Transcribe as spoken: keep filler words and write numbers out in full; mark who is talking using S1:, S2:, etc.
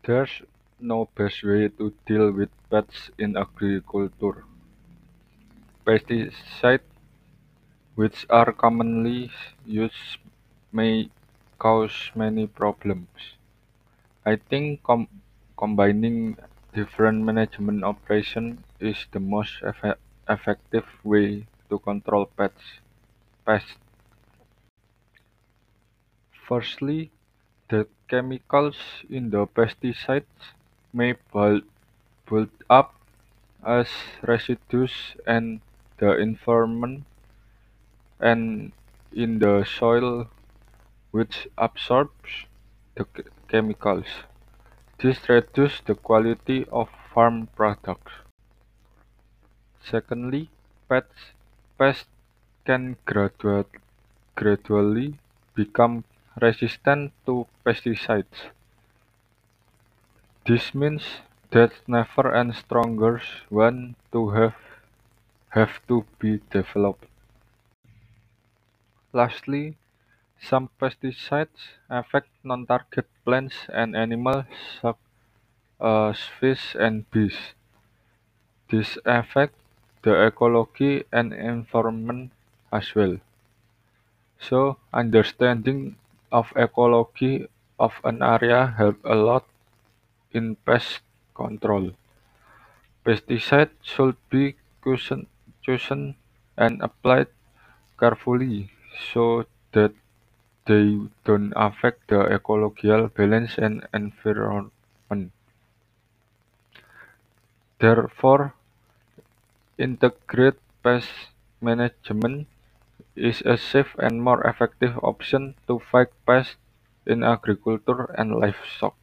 S1: There's no best way to deal with pests in agriculture. Pesticides, which are commonly used, may cause many problems. I think com- combining different management operations is the most effe- effective way to control pests. pests. Firstly, the chemicals in the pesticides may build, build up as residues and the environment and in the soil which absorbs the ch- chemicals. This reduces the quality of farm products. Secondly, pests, pests can gradua- gradually become resistant to pesticides. This means that never and stronger one to have have to be developed. Lastly, some pesticides affect non-target plants and animals such as fish and bees. This affects the ecology and environment as well. So, understanding of ecology of an area help a lot in pest control. Pesticides should be chosen, chosen and applied carefully so that they don't affect the ecological balance and environment. Therefore, integrated pest management is a safe and more effective option to fight pests in agriculture and livestock.